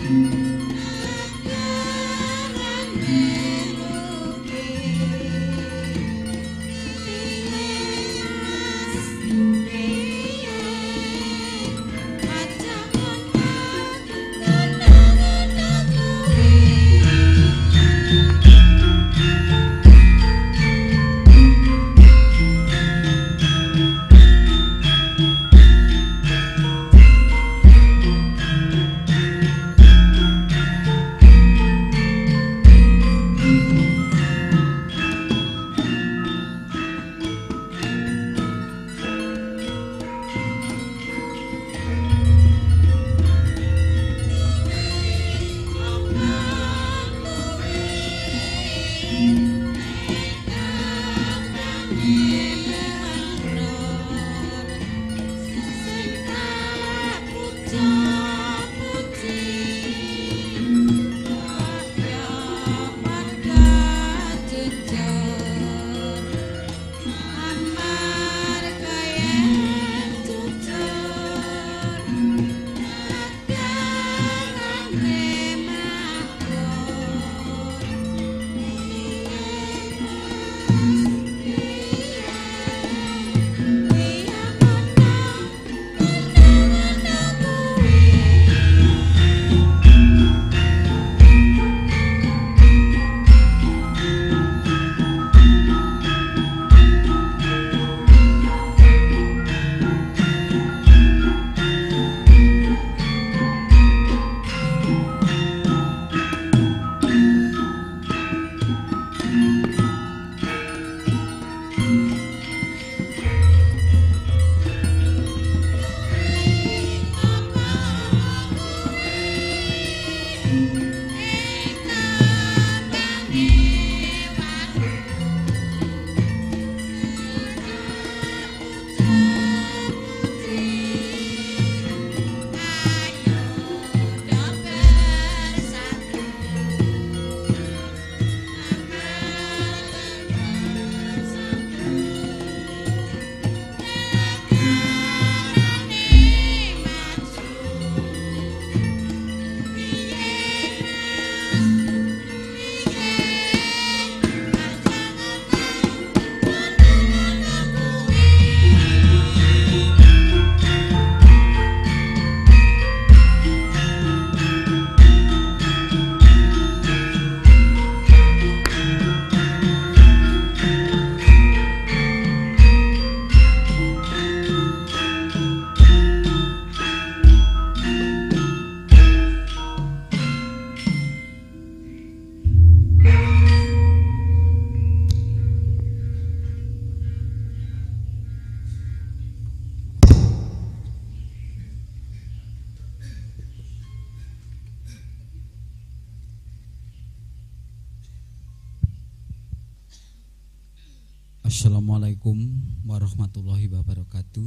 Assalamualaikum warahmatullahi wabarakatuh.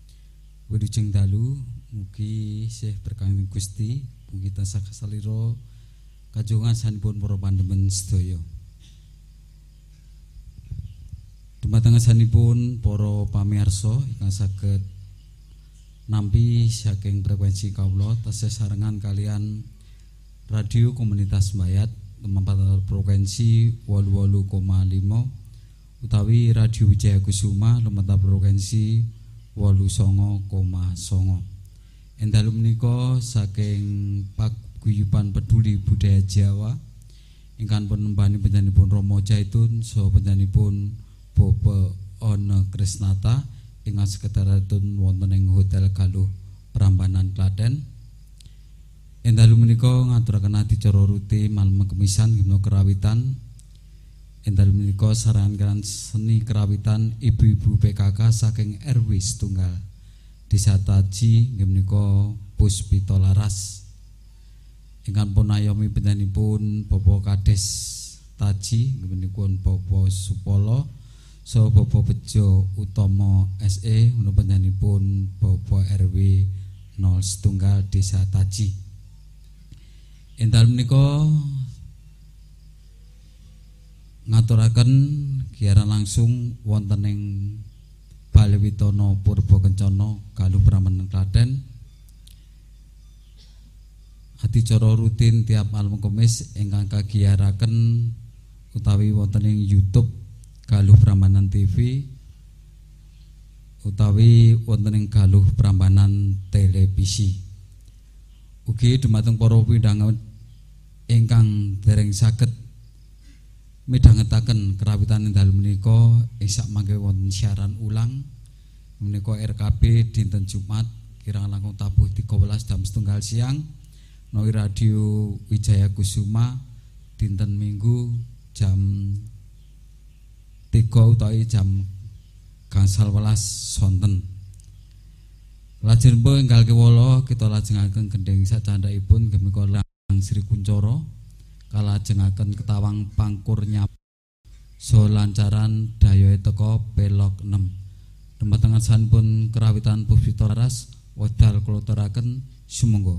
Wilujeng dalu mugi sih berkahing Gusti, mugi tansah kasalira kajongan sanipun para pandemen sedaya. Dumateng sanipun para pamirsa ingkang saged nampi saking frekuensi kawula tasih sarengan kalian radio komunitas Mbayat lumampah frekuensi 88,5 utawi Radio Wijaya Kusuma lumampah frekuensi 89,9. Endalu menika saking paguyuban peduli budaya Jawa ingkang penembani penyanipun Romo Jaitun saha penyanipun Bapak Ana Krisnata ingkang sekedaratun wonten ing Hotel Galuh Prambanan Klaten. Endalu menika ngaturaken adicara rutin malem kemisan gimna kerawitan. Endalu menika sarangan seni kerawitan ibu-ibu PKK saking RW setunggal Desa Taji nggih menika Puspita Laras. Ingkang pun ayomi penyanipun Bapak Kades Taji nggih menika Bapak Supolo saha Bapak Bejo Utomo SE menika penyanipun Bapak RW 01 Desa Taji. Endalu menika ngaturaken giaran langsung wonten ing Balewitono Purba Kencana Galuh Prambanan Klaten. adicara rutin tiap malam Kamis ingkang kagiyaraken utawi wonten ing YouTube Galuh Prambanan TV utawi wonten ing Galuh Prambanan Televisi. Ugi dumateng para pindhangan ingkang dereng saged midhangetaken kerawitan ing dalem menika sak mangke wonten siaran ulang menika RKB dinten Jumat kirang langkung tabuh 13 jam setunggal siang menawi Radio Wijaya Kusuma dinten Minggu jam 3 utawi jam gangsal welas sonten. Lajeng enggal kewala kita lajengaken gendhing sacandhaipun gemika Lang Sri Kuncoro kalajengaken ketawang pangkur nyap so lancaran dayoe teka pelok 6. Dumateng sanipun kerawitan Puspito Laras wedal kula aturaken sumangga.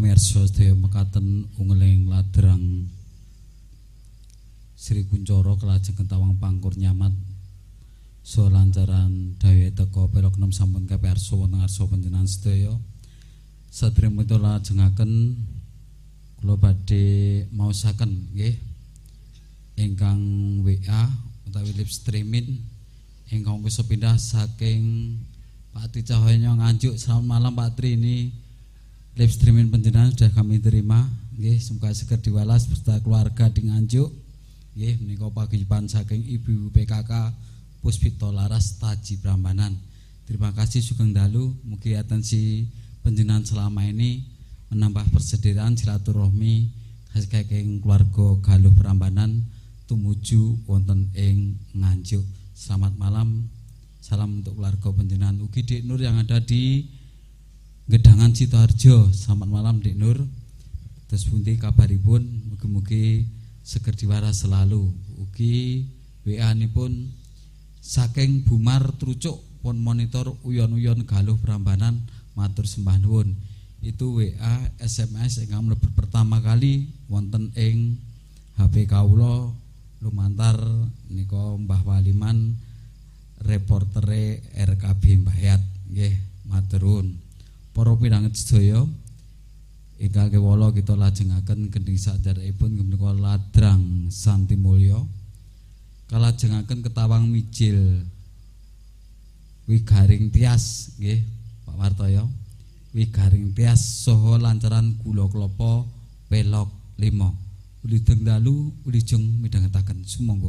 pamirsa sedaya mekaten ungeling ladrang Sri Kuncoro kelajeng ketawang pangkur nyamat so lancaran daya teko pelok 6 sampun kapiarsa wonten ngarsa panjenengan sedaya. Sadèrèng menika lajengaken kula badhe maosaken nggih ingkang WA utawi live streaming ingkang wis pindah saking Pak Tri Cahyono Nganjuk. Selamat malam Pak Tri, ini live streaming panjenengan sudah kami terima nggih, semoga segera diwalas beserta keluarga di Nganjuk. Nggih, menika paguyuban saking Ibu PKK Puspito Laras Taji Prambanan. Terima kasih sugeng dalu, mugi atensi panjenengan selama ini menambah persediaan silaturahmi saking keluarga Galuh Prambanan tumuju wonten ing Nganjuk. Selamat malam, salam untuk keluarga panjenengan. Ugi Dik Nur yang ada di Gedangan Sidoarjo. Selamat malam Dik Nur. Terus pundi kabaripun? Mugi-mugi seger diwaras selalu. Ugi WA nipun saking Bumar Trucuk pun monitor uyon-uyon Galuh Prambanan, matur sembah nuwun. Itu WA SMS ingkang mlebet pertama kali wonten ing HP kawula lumantar nika Mbah Waliman reportere RKB Mbayat nggih, matur nuwun. Para pinanget sedaya ingkang kewala kita lajengaken gending sadherekipun menika ladrang Santi Mulya kalajengaken ketawang mijil Wigaring Tias nggih Pak Wartoyo, Wigaring Tias saha lancaran gula klapa pelok 5. Wilujeng dalu wilujeng midhangetaken sumangga.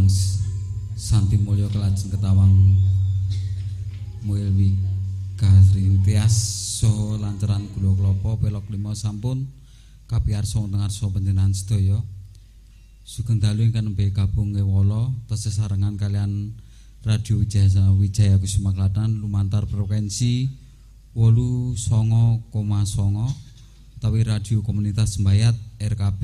ingkang santi mulya kelajeng ketawang Muilwi Garintias saha lanceran gula klapa pelok 5 sampun kapiyarsa wonten ngarsa panjenengan sedaya. Sugeng dalu ingkang nembe gabung ngewala tesih sarengan kalian Radio Wijaya Kusuma Klaten lumantar frekuensi 89,9 utawi radio komunitas Sembayat RKB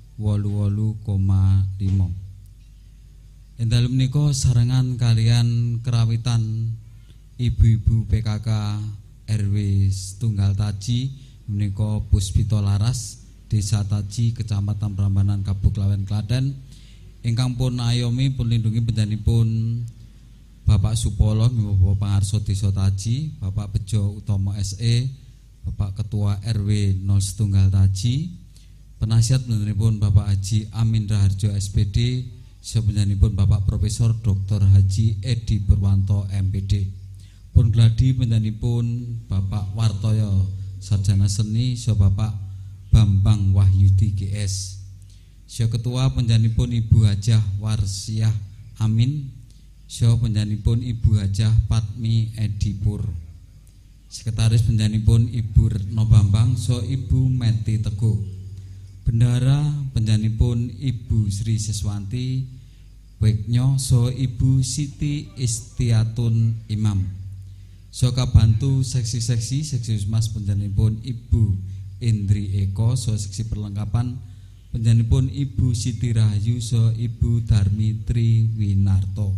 88,5. Ing dalem menika sarengan kalian kerawitan ibu-ibu PKK RW Setunggal Taji menika Puspita Laras Desa Taji Kecamatan Prambanan Kabupaten Klaten ingkang pun ayomi pun lindungi panjenenganipun Bapak Supolo Bapak Pangarso Desa Taji, Bapak Bejo Utomo SE, Bapak Ketua RW 01 Taji, penasihat panjenenganipun Bapak Haji Amin Raharjo SPD, sapanjenenganipun Bapak Profesor Dr. Haji Edi Purwanto MPD. Pun gladi panjenenganipun Bapak Wartoyo Sarjana Seni, so Bapak Bambang Wahyudi GS. So Ketua panjenenganipun Ibu Hajah Warsiah Amin, so panjenenganipun Ibu Hajah Patmi Edipur. Sekretaris panjenenganipun Ibu Retno Bambang, so Ibu Meti Teguh. Bendara panjenenganipun Ibu Sri Siswanti Weknyo, so Ibu Siti Istiatun Imam. So kabantu seksi Mas panjenenganipun Ibu Indri Eko, so seksi perlengkapan panjenenganipun Ibu Siti Rahayu, so Ibu Darmi Triwinarto.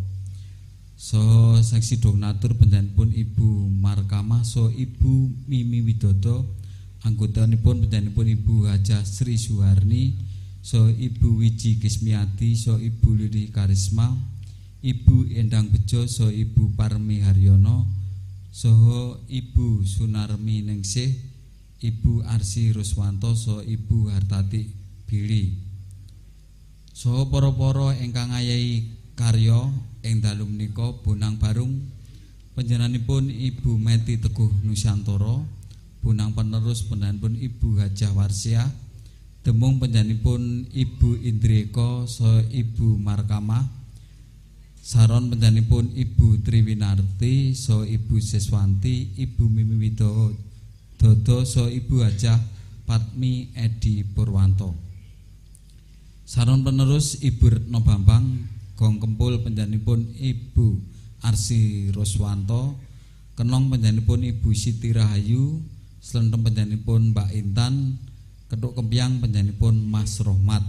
So seksi donatur panjenenganipun Ibu Markamah, so Ibu Mimi Widodo. Anggotanipun panjenenganipun Ibu Hajah Sri Suharni, so Ibu Wiji Kismiati, so Ibu Lili Karisma, Ibu Endang Bejo, so Ibu Parmi Haryono, so Ibu Sunarmi Ningsih, Ibu Arsi Ruswanto, so Ibu Hartati Billy. So para-para ingkang ayahi karya ing dalu menika Bonang Barung panjenenganipun Ibu Meti Teguh Nusantara, Bonang penerus panjenenganipun Ibu Hajah Warsiah, Demung panjenenganipun Ibu Indrieko, so Ibu Markamah, Saron panjenenganipun Ibu Triwinarti, so Ibu Siswanti, Ibu Mimi Widodo, so Ibu Hajah Patmi Edi Purwanto. Saron penerus Ibu Retno Bambang, Gong Kempul panjenenganipun Ibu Arsi Ruswanto, Kenong panjenenganipun Ibu Siti Rahayu, Slenthem panjenenganipun Mbak Intan, Ketuk Kempiang panjenenganipun Mas Rohmat.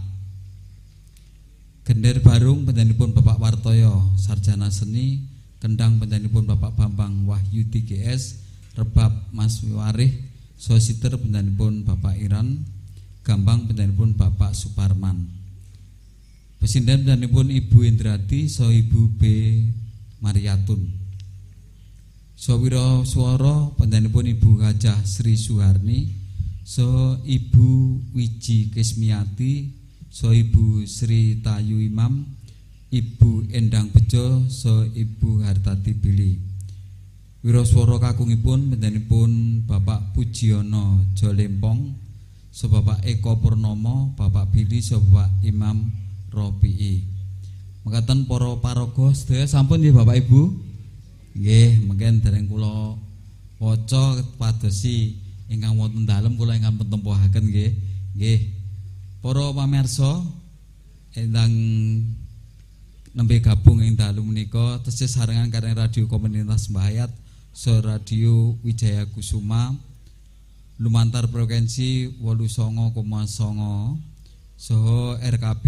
Gender Barung panjenenganipun Bapak Wartoyo Sarjana Seni, Kendang panjenenganipun Bapak Bambang Wahyudi GS, Rebab Mas Wiwarih, Sositer panjenenganipun Bapak Iran, Gambang panjenenganipun Bapak Suparman. Pesinden panjenenganipun Ibu Indrati, so Ibu B Mariatun. Sawira swara panjenenganipun Ibu Hajah Sri Suharni, so Ibu Wiji Kismiati, so Ibu Sri Tayu Imam, Ibu Endang Bejo, so Ibu Hartati Billy. Wiraswara kakungipun panjenenganipun Bapak Pujiono Jolempong, so Bapak Eko Purnomo, Bapak Billy, so Bapak Imam Robi'i. Mekaten para paraga sedaya sampun nggih Bapak Ibu? Nggih, mungkin dereng kula waca padosi ingkang wonten dalem kula ingkang tempuhaken nggih. Nggih. Para pamirsa ingkang nembe gabung ing dalu menika tesih sarengan kaliyan radio komunitas Sembayat, so Radio Wijaya Kusuma lumantar frekuensi 89,9 saha RKB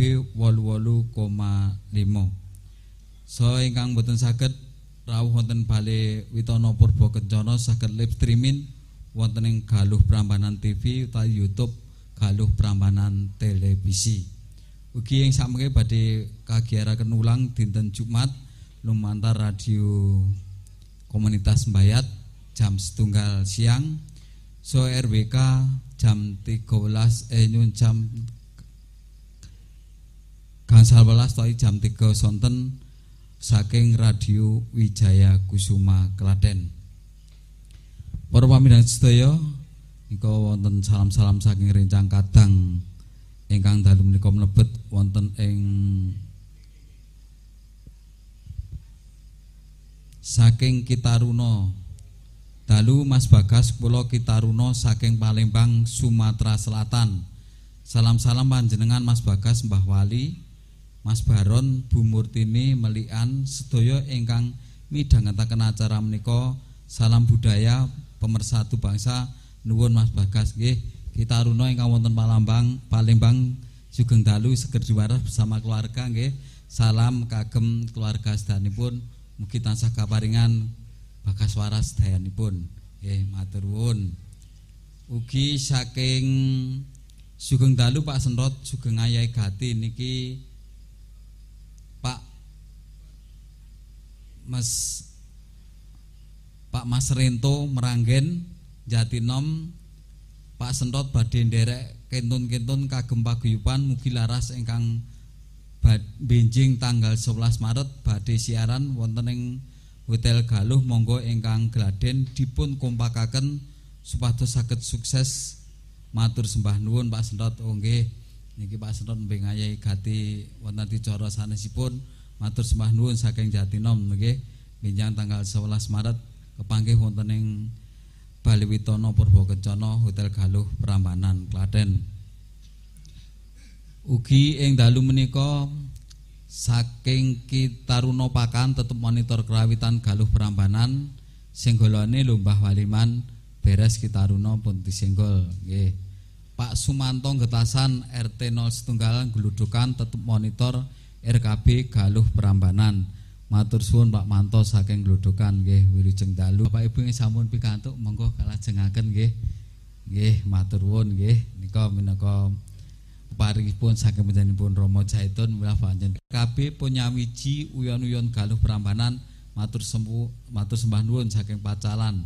88,5. So ingkang boten saged rawuh wonten Bale Witono Purba Kencana saged live streaming wonten ing Galuh Prambanan TV utawi YouTube Galuh Prambanan Televisi. Ugi ing samengke badhe kagiaraken ulang dinten Jumat lumantar radio komunitas Sembayat jam 1 siang, so RWK jam 13 nyun jam gangsal welas tohi jam 3 sonten saking Radio Wijaya Kusuma Klaten. Para pamirsa sedaya, nika wonten salam-salam saking rencang kadang ingkang dalu menika mlebet wonten ing saking Kitaruna. Dalu Mas Bagas kula Kitaruna saking Palembang, Sumatera Selatan. Salam-salam panjenengan Mas Bagas, Mbah Wali, Mas Baron, Bu Murtini, Melian, sedaya ingkang midhangetaken acara menika. Salam budaya pemersatu bangsa. Nuwun Mas Bagas nggih. Kitaruna ingkang wonten Palembang sugeng dalu seger diwaras bersama keluarga nggih. Salam kagem keluarga sedanipun, mugi tansah kaparingan bagas waras dayanipun. Nggih, matur nuwun. Ugi saking sugeng dalu Pak Senrot, sugeng Ayai Gati niki Pak Mas Rento Meranggen Jatinom. Pak Senrot badhe nderek kentun-kentun kagem paguyuban mugi laras ingkang benjing tanggal 11 Maret badhe siaran wonten ing Hotel Galuh. Monggo ingkang gladhen dipun kompakaken supados saged sukses. Matur sembah nuwun Pak Senrot. Oh nggih, niki Pak Senrot mbing Ayai Gati wonten dicara sanesipun. Matur sembah nuwun saking Jatinom nggih. Benjang tanggal 11 Maret kepanggih wonten ing Bali Witono Purwokencana Hotel Galuh Prambanan Klaten. Ugi ing dalu menika saking Kitaruna Pakan tetep monitor kerawitan Galuh Prambanan. Senggolane lho Mbah Waliman beres Kitaruna pun disenggol nggih. Pak Sumanto Getasan RT 01 Gludukan tetep monitor RKB Galuh Prambanan. Matur suwun Pak Manto saking Gludukan nggih, wilujeng dalu. Bapak Ibu sampun pikantuk monggo kalajengaken nggih. Nggih, matur nuwun nggih. Nika minangka paringipun saking panjenenganipun Rama Jaitun milah panjenengan KB Punyawiji uyon-uyon Galuh Prambanan. Matur sembah nuwun saking Pacalan.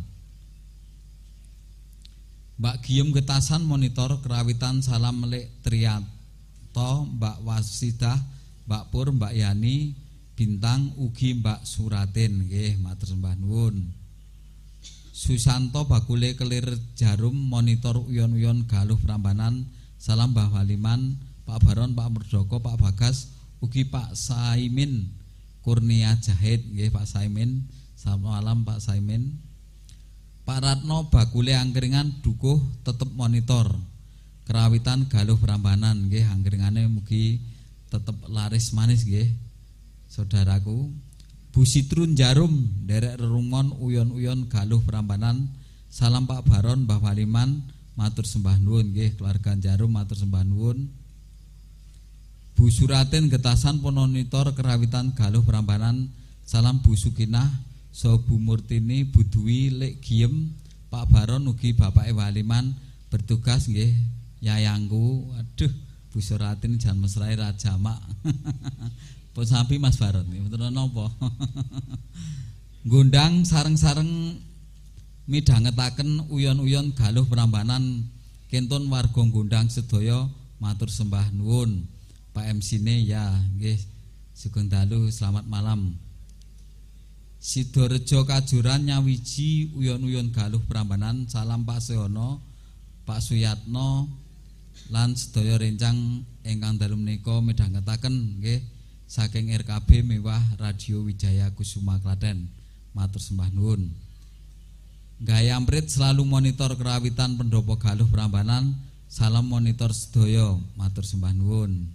Mbak Giyem Getasan monitor kerawitan. Salam Lek Triyanto, Mbak Wasidah, Mbak Pur, Mbak Yani Bintang, ugi Mbak Suratin nggih, matur sembah nuwun. Susanto Bakule Kelir Jarum monitor uyon-uyon Galuh Prambanan. Salam Mbah Waliman, Pak Baron, Pak Murdoko, Pak Bagas, ugi Pak Saimin Kurnia Jahid nggih, Pak Saimin. Selamat malam Pak Saimin. Pak Ratno Bakule Angkringan Dukuh tetep monitor kerawitan Galuh Prambanan nggih, angkringane mugi tetep laris manis nggih. Saudaraku, Bu Sitrun Jarum derek rerungon uyon-uyon Galuh Prambanan. Salam Pak Baron, Mbah Waliman, matur sembah nuwun nggih. Keluarga Jarum matur sembah nuwun. Bu Suratin Getasan monitor kerawitan Galuh Prambanan. Salam Bu Sukinah, so Bu Murtini, Bu Dwi, Lek Giem, Pak Baron ugi Bapak Waliman bertugas nggih. Yayangku, aduh Bu Suratin jan mesrae ra jamak. Pun sampi Mas Baron nggih, mboten napa. Ngundang sareng-sareng midhangetaken uyon-uyon Galuh Prambanan. Kentun warga ngundang sedaya matur sembah nuwun. Pak MC-ne ya nggih, sugeng dalu, selamat malam. Sidorejo Kajuran nyawiji uyon-uyon Galuh Prambanan. Salam Pak Sehono, Pak Suyatno lan sedaya rencang ingkang dalu menika midhangetaken nggih saking RKB Mewah Radio Wijaya Kusuma Klaten. Matur sembah nuwun. Gayamprit selalu monitor kerawitan pendopo Galuh Prambanan. Salam monitor sedaya, matur sembah nuwun.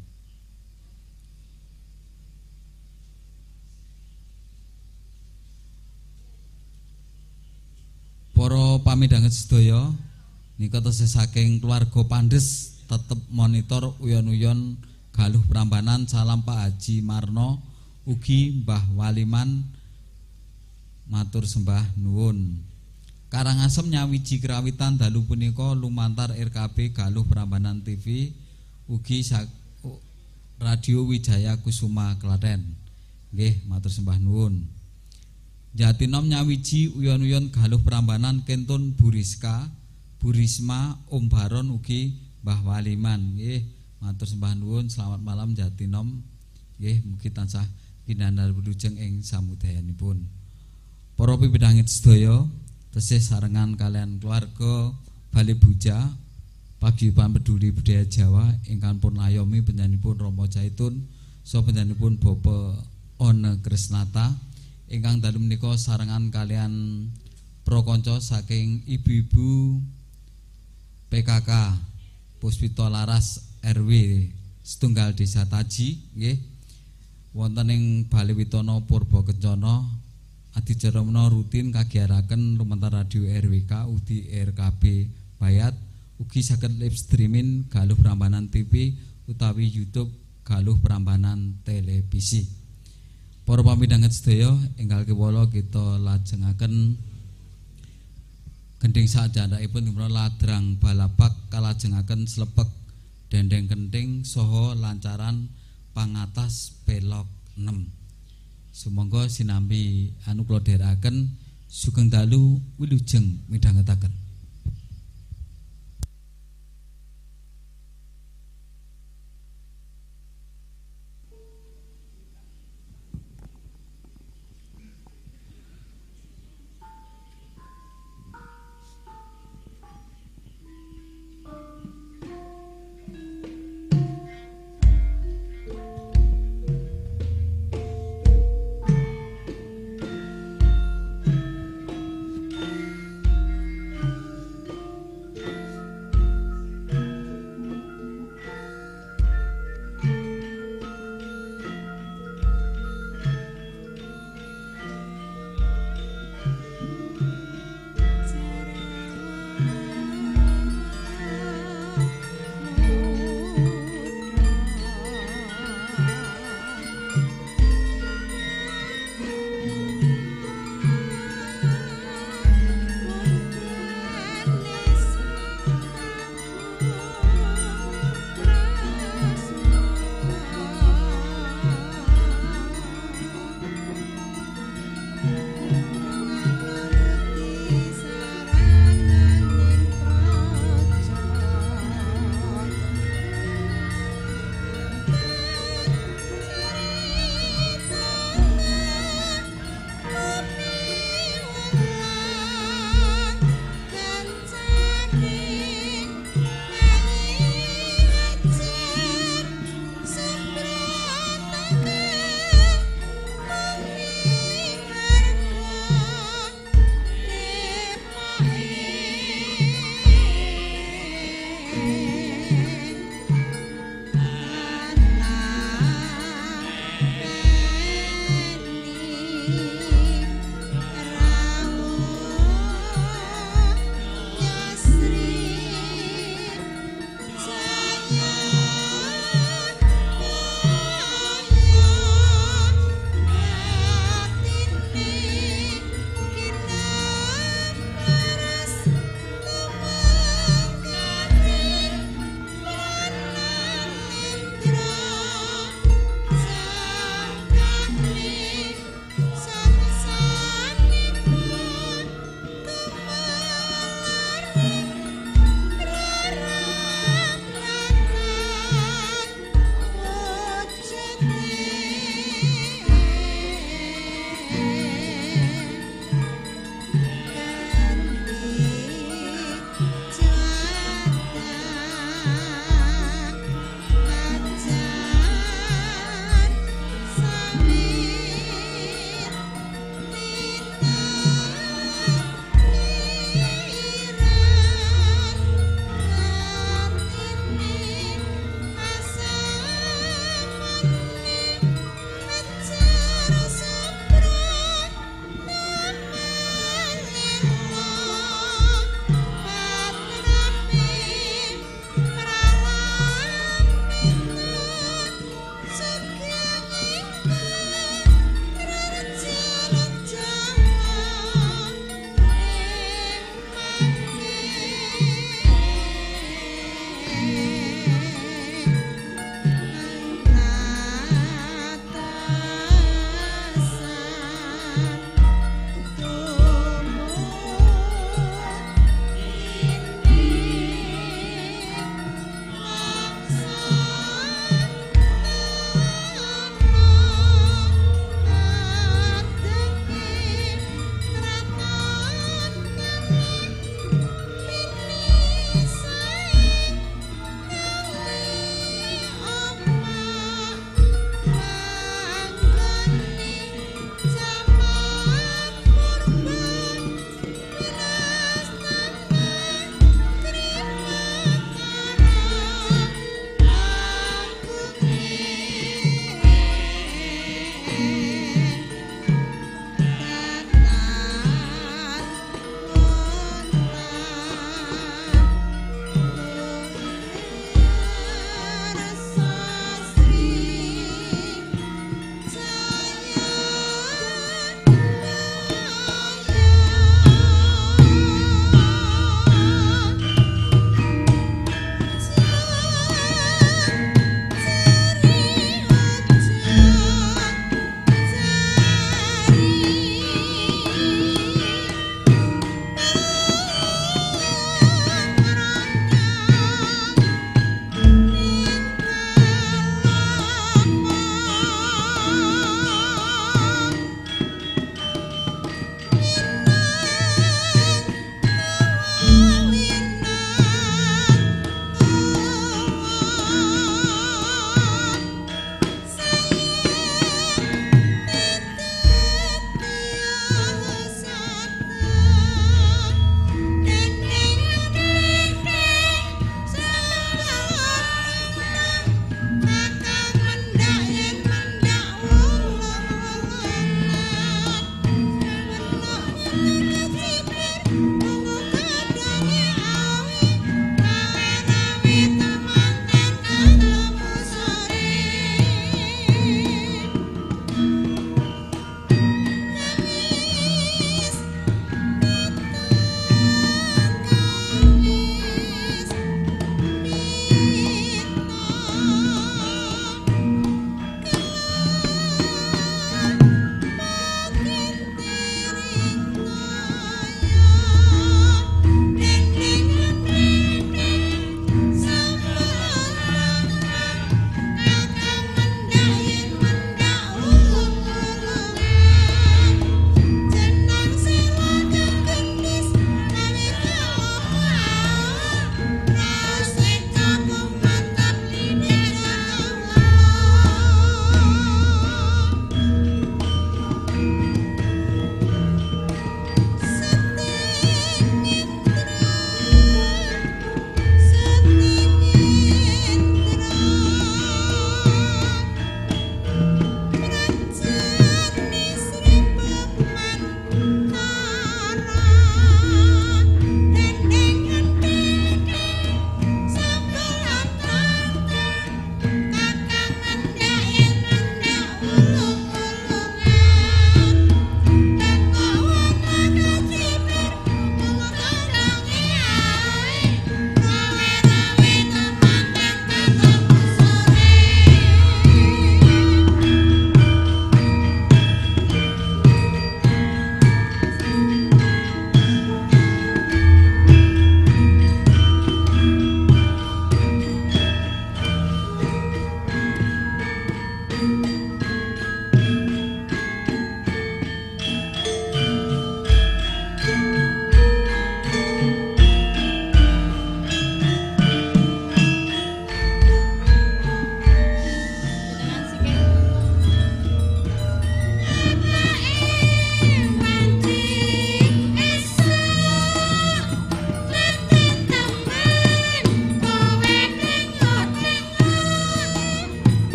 Para pamidhanget sedaya, nika tesih saking keluarga Pandes tetep monitor uyon-uyon Galuh Prambanan. Salam Pak Haji Marno, ugi Mbah Waliman, matur sembah nuwun. Karangasem nyawiji kerawitan dalu punika lumantar RKB Galuh Prambanan TV, ugi Radio Wijaya Kusuma Klaten. Nggih, matur sembah nuwun. Jatinom nyawiji uyon-uyon Galuh Prambanan. Kentun Buriska, Burisma, Om Baron ugi Mbah Waliman. Nggih, matur sembah nuwun. Selamat malam Jatinom. Nggih, mugi tansah pinanar wilujeng ing samudayanipun. Para pipidhangit sedaya, tesih sarengan kalian keluarga Bali Buja Paguyuban Peduli Budaya Jawa ingkang pun ayomi penyanipun Rama Jaitun saha penyanipun Bapak One Krisnata ingkang dalu menika sarengan kalian prokonco saking ibu-ibu PKK Puspito Laras RW setunggal Desa Taji nggih wonten ing Baliwitono Purba Kencana adicara menawa rutin kagiaraken lumantar radio RWK ugi RKB Bayat ugi saged live streaming galuh Prambanan TV utawi YouTube galuh Prambanan televisi. Para pamidhanget sedaya enggal kewala kita lajengaken gending sajandhaipun menawa ladrang balapak kalajengaken slepek dendeng kenting saha lancaran pangatas pelok 6. Sumangga sinambi anu kula dherekaken sugeng dalu wilujeng midhangetaken.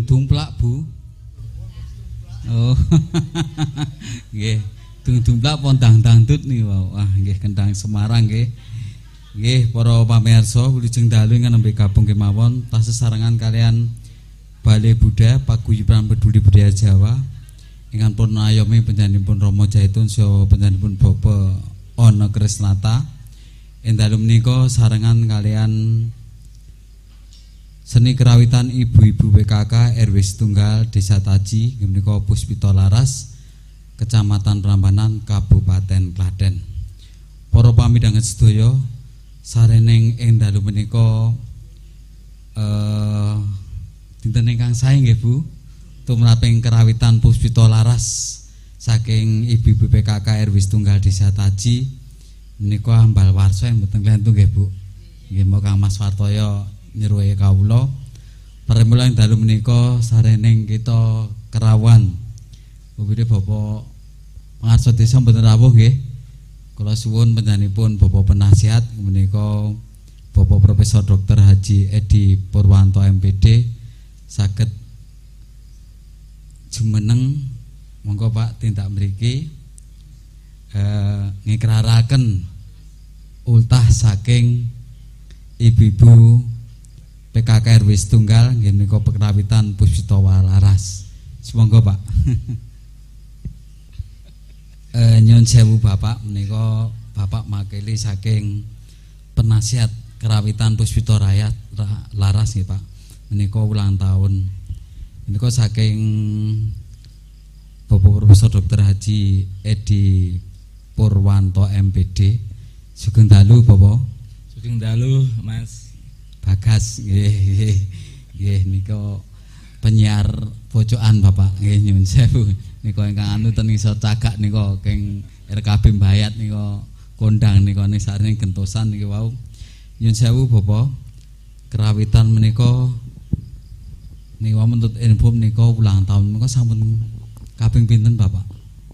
Dung dumplak, Bu. Oh. Nggih, dung dumplak pondang dangdut nih, wow. Wah, nggih kendang Semarang nggih. Nggih, para pamirsa, wilujeng dalu ingkang nembe gabung kemawon tas sesarengan kalian Balai Budaya Paguyuban Peduli Budaya Jawa. Ingkang pun ayomi panjenenganipun Rama Jaitun saha panjenenganipun Bapak Ana Krisnata. Ing dalu menika sarengan kalian seni kerawitan ibu-ibu PKK RW Setunggal Desa Taji menika Puspita Laras Kecamatan Prambanan Kabupaten Klaten. Para pamidhanget sedaya sareneng ing dalu menika dinten ingkang sae nggih Bu tumraping kerawitan Puspita Laras saking ibu-ibu PKK RW Setunggal Desa Taji menika ambal warsa mboten klentu nggih Bu. Nggih monggo Kang Mas Wartoyo nyruwuhi kawula pramila ing dalu menika sareneng kita kerawan Bupati Bapak Pangarsa Desa mboten rawuh nggih. Kula suwun panjenenganipun Bapak Penasihat menika Bapak Profesor Dr. Haji Edi Purwanto MPD saged jumeneng monggo Pak tindak mriki ngikraraken ultah saking ibu-ibu PKK RW Setunggal nggih menika pekerawitan Puspita Laras. Semoga Pak. Nyun sewu Bapak menika Bapak makili saking penasihat kerawitan Puspita Laras nggih Pak. Menika ulang tahun. Menika saking Bapak Profesor Dr. Haji Edi Purwanto MPD. Sugeng dalu Bapak. Sugeng dalu Mas Bagas nggih nika penyiar pojokan Bapak nggih nyuwun sewu nika ingkang anu ten iso cagak nika keng RKB Mbayat nika kondang nika ning sareng gentosan niki wau nyuwun sewu Bapak kerawitan menika niku menuntut info menika ulang tahun menika sampun kaping pinten Bapak?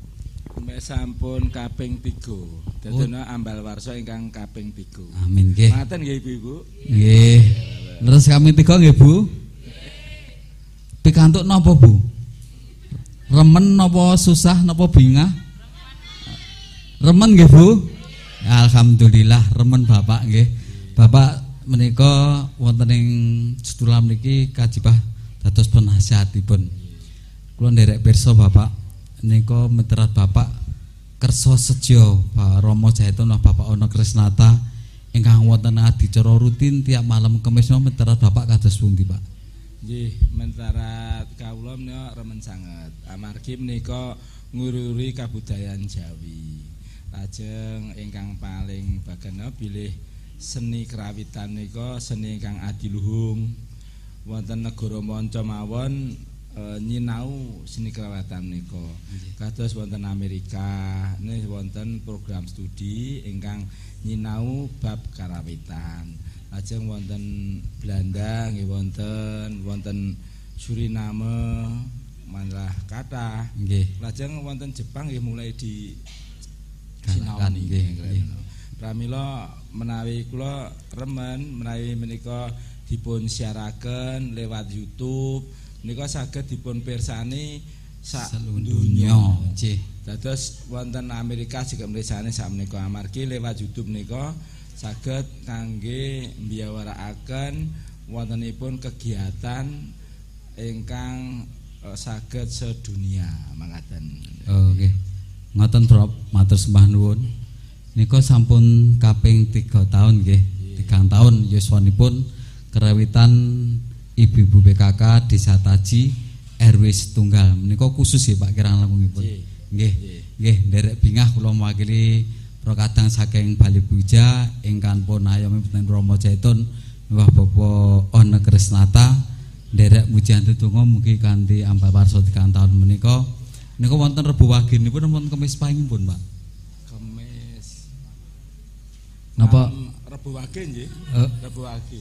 Sampun kaping 3. Dadono ambal warsa ingkang kaping 3. Amin nggih. Maten nggih Ibu. Nggih. Terus kaping 3 nggih Bu. Pikantuk napa Bu? Remen napa susah napa bingah? Remen nggih Bu. Alhamdulillah remen Bapak nggih. Bapak menika wonten ing setulam niki kajibah dados penasihatipun. Kula nderek pirsa Bapak nika meterat Bapak kersa sejo Pak Rama Jaitun Bapak Ana Krisnata ingkang wonten adicara rutin tiap malam Kamis meterat Bapak kados pundi Pak? Nggih, meterat kawula menika remen sanget. Amargi menika ngururi kabudayan Jawi. Lajeng ingkang paling bagana bilih seni kerawitan nika seni ingkang adiluhung wonten negara manca mawon nyinau seni kerawitan nika. Kados wonten Amerika nggih wonten program studi ingkang nyinau bab karawitan. Lajeng wonten Belanda nggih wonten Suriname malah kathah. Nggih. Lajeng wonten Jepang nggih mulai di sinaoni nggih. Pramila menawi kula remen menawi menika dipun siaraken lewat YouTube menika saged dipun pirsani sak donya. Nggih. Dados wonten Amerika juga mirsani sak menika amargi lewat YouTube menika saged kangge mbiyawarakaken wontenipun kegiatan ingkang saged sedunia mangkaten. Oh nggih. Ngoten Prof, matur sembah nuwun. Nika sampun kaping 3 tahun nggih. 3 tahun yuswanipun kerawitan ibu-ibu PKK Desa Taji RW Setunggal. Menika khusus ya Pak kirang langkungipun. Nggih. Nggih, nderek bingah kula mewakili prokadang saking Balai Buja ingkang pun ayomi Peten Rama Jaitun Mbah Bapak Ana Krisnata nderek mujian tetungga mugi kanthi ambal warsa 3 tahun menika. Nika wonten Rebo Waginipun wonten Kemis pangipun Pak. Kemis. Napa Rebo Wage nggih? Rebo Wage.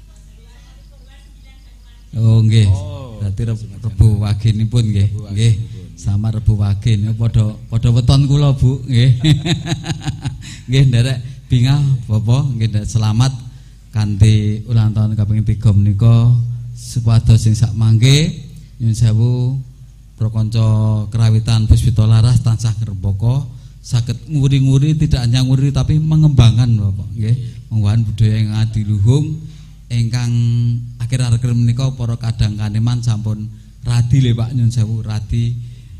Oh nggih. Berarti Rebo Waginipun nggih. Nggih. Sama Rebo Wage niku padha weton kula Bu nggih. Nggih nderek bingah Bapak nggih selamat kanthi ulang tahun kaping 3 menika supados sing sak mangke Nyun sewu para kanca kerawitan Puspita Laras tansah ngrembaka saged nguri-nguri, tidak hanya nguri tapi mengembangkan Bapak nggih, mengembangkan budaya yang adiluhung ingkang akhir-akhir menika para kadang kaneman sampun radi le Pak, nyun sewu radi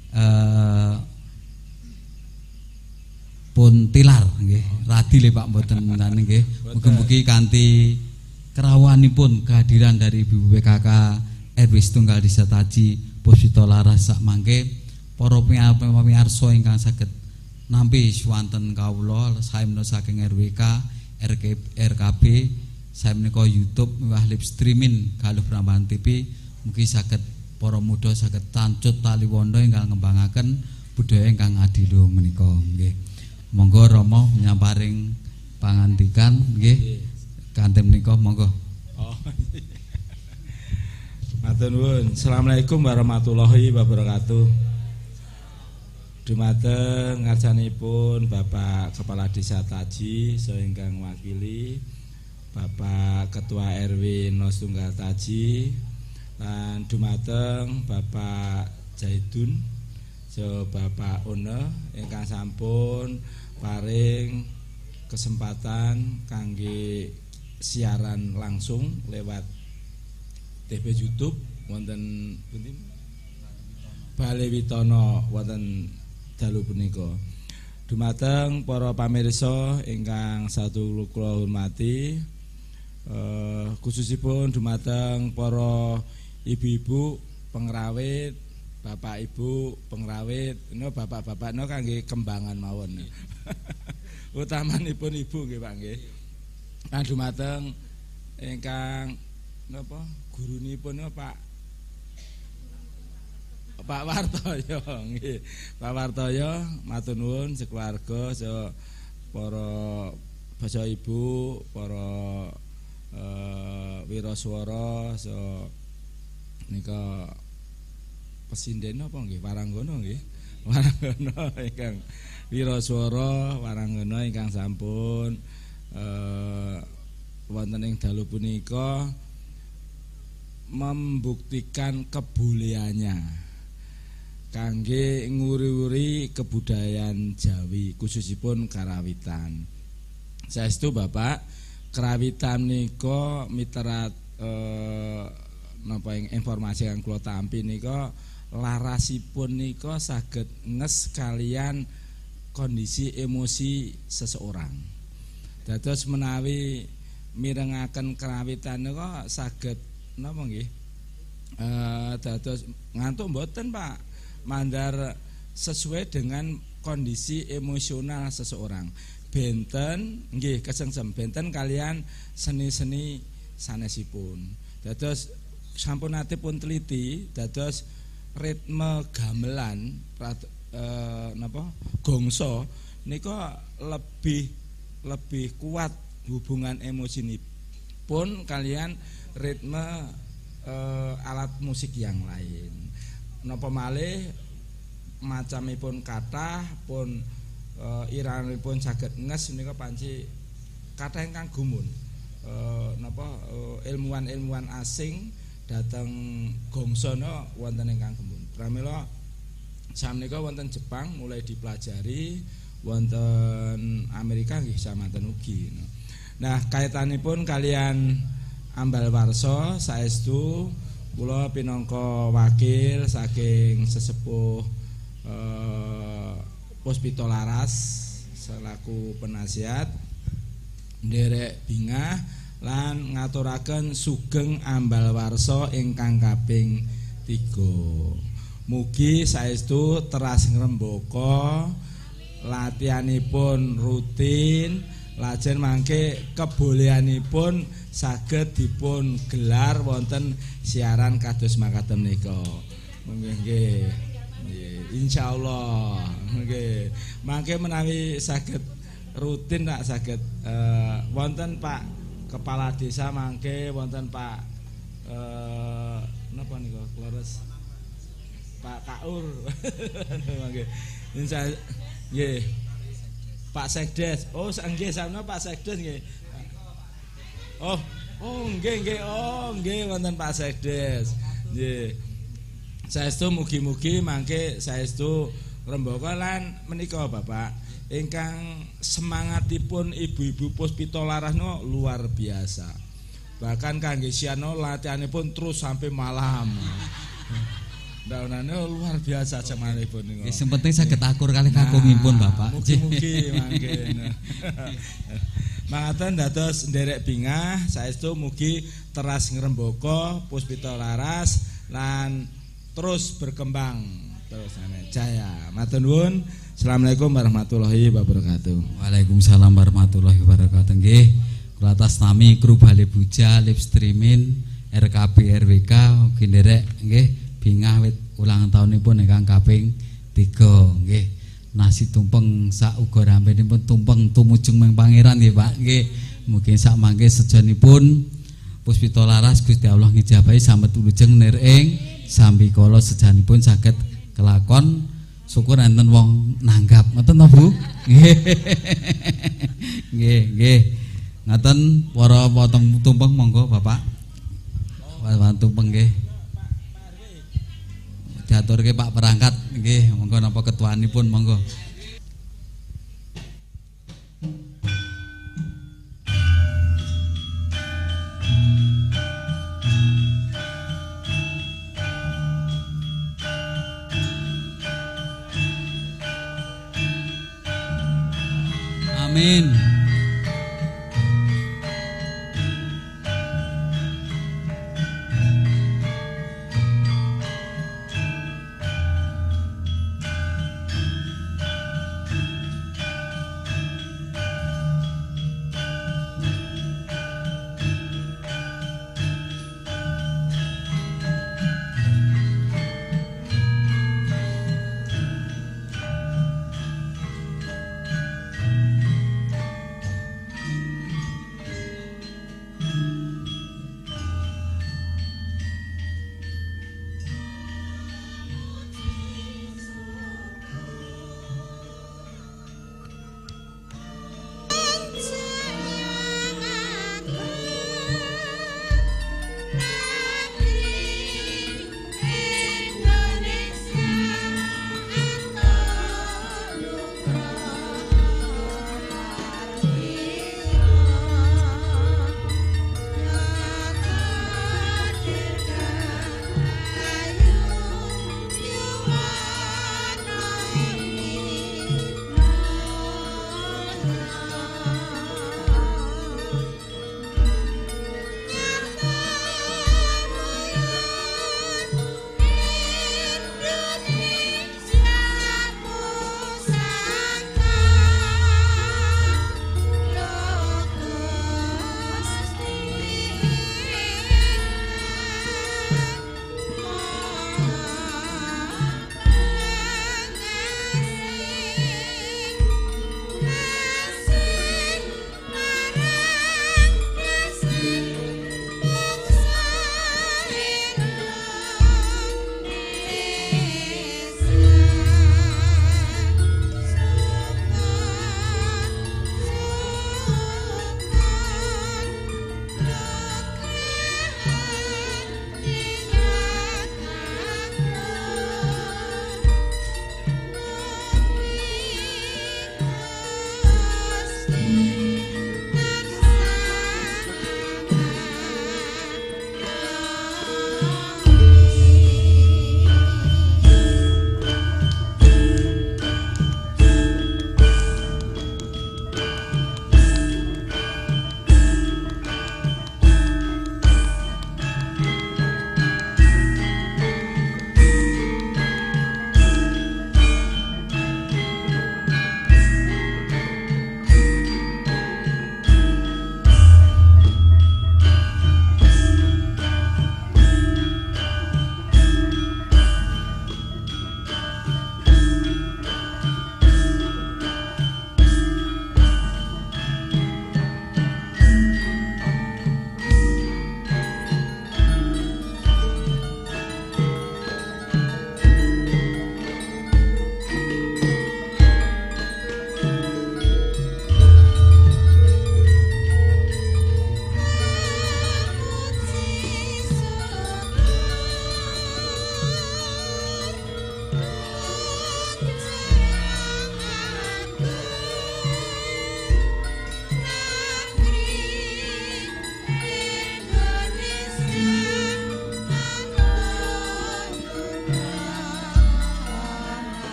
pun tilar nggih, radi le Pak mboten ngene nggih. Mugi-mugi kanthi kerawanipun kehadiran dari Ibu PKK RW Setunggal Desa Taji Puspita Laras sak mangke para pamirsa ingkang saged nampi swanten kawula saemna saking RWK RKB saemenika YouTube miwah live streaming Galuh Prambanan TV, mugi saged para muda saged tancut taliwondo ingkang ngembangaken budaya ingkang adiluhung menika nggih. Monggo Rama nyamparing pangandikan nggih. Kanthi menika monggo. Matur nuwun. Assalamualaikum warahmatullahi wabarakatuh. Dumateng ngarsanipun Bapak Kepala Desa Taji saha ingkang wakili Bapak Ketua RW Setunggal Taji lan dumateng Bapak Zaidun saha Bapak One ingkang sampun paring kesempatan kangge siaran langsung lewat TV YouTube wonten pundi Bale Witono wonten dalu punika. Dumateng para pamirsa ingkang satu kula hormati, khususipun dumateng para ibu-ibu pengrawit, bapak ibu pengrawit, bapak-bapak kangge kembangan mawon. Utamanipun ibu nggih Pak nggih. Lan dumateng ingkang napa gurunipun Pak Wartoyo nggih. Pak Wartoyo matur nuwun sekeluarga saha para basa ibu, para wiraswara saha nika pesinden apa nggih Waranggana nggih. Waranggana ingkang wiraswara Waranggana ingkang sampun wonten ing dalu punika membuktikan kebolehannya kangge nguri-uri kebudayaan Jawi khususipun karawitan. Saestu Bapak, karawitan nika miterat napa informasi yang kula tampi nika larasipun nika saged nges kalian kondisi emosi seseorang. Dados menawi mirengaken karawitan nika saged napa nggih? Dados ngantuk mboten Pak. Mandar sesuai dengan kondisi emosional seseorang. Benten nggih kesengsem benten kalian seni-seni sanesipun. Dados sampun nate pun teliti dados ritme gamelan napa gongso nika lebih kuat hubungan emosinipun kalian ritme alat musik yang lain. Napa malih macamipun kathah pun iranipun saged nges menika panci kathah ingkang gumun. Ilmuwan-ilmuwan asing dhateng gongsana wonten ingkang gumun. Pramila samenika wonten Jepang mulai dipelajari, wonten Amerika nggih samanten ugi. Nah, kaitanipun kalian ambal warsa saestu kula pinangka wakil saking sesepuh Puspita Laras selaku penasihat nderek bingah lan ngaturaken sugeng ambal warsa ingkang kaping 3. Mugi saestu teras ngrembaka latihanipun rutin lajeng mangke kebolehanipun saged dipun gelar wonten siaran kados makaten nika. Nggih. Insyaallah. Nggih. Mangke menawi saged rutin tak saged wonten Pak Kepala Desa mangke wonten Pak napa nika Kleres Pak Kaur. Mangke. Insyaallah nggih. Pak Sekdes. Oh, nggih sampeyan Pak Sekdes nggih. Oh nggih nggih. Oh, nggih wonten Pak Sekdes. Nggih. Saestu mugi-mugi mangke saestu ngrembaka lan menika Bapak ingkang semangatipun ibu-ibu Puspita Laras no luar biasa. Bahkan kangge siano latihanipun terus sampai malam. Daunane luar biasa semangatipun niku. Sing penting saged akur kalih kakungipun Bapak. Mugi-mugi mangke. Mangaten dados nderek bingah saestu mugi teras ngrembaka Puspita Laras lan terus berkembang terus jaya. Matur nuwun. Assalamualaikum warahmatullahi wabarakatuh. Waalaikumsalam warahmatullahi wabarakatuh. Nggih, kula atas nami kru Bale Buja live streaming RKB RWK ugi nderek nggih bingah wit ulang tahunipun ingkang kaping 3 nggih. Nasi tumpeng sak uga rampenipun tumpeng tumujung meng pangeran nggih Pak. Nggih, mugi sak mangke sejanipun Puspita Laras Gusti Allah ngijabahi samet wilujeng nir ing sambikala sejanipun saged kelakon syukur enten wong nanggap ngoten to Bu. Nggih, nggih. Ngaten para potong tumpeng monggo Bapak. Wan tumpeng nggih. Diaturke Pak perangkat nggih, monggo napa ketuanipun monggo. Amin.